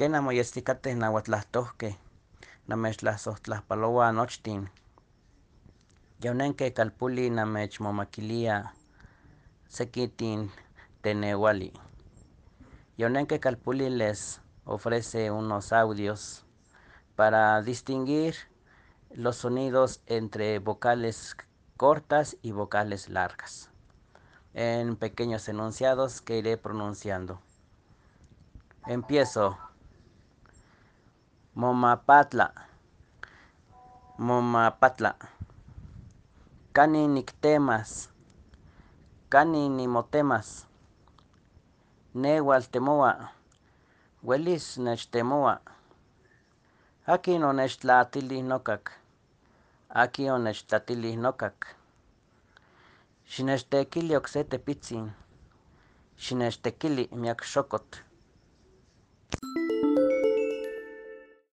Ken anmoyesticateh nauatlahtohkeh, namechtlasojtlahpaloua nochtin. Yonenkeh calpulli namechmomakilia sekitin teneuali. Yonenkeh calpulli les ofrece unos audios para distinguir los sonidos entre vocales cortas y vocales largas, en pequeños enunciados que iré pronunciando. Empiezo. Momapatla, momapatla. Canin nictemas, canin nimotemas. Neual temoa, uelis nechtemoa. Akin onechtlatilih nokak, akin onechtlatilih nokak. Xinechtekili okse tepitzin, xinechtekili miak xokotl.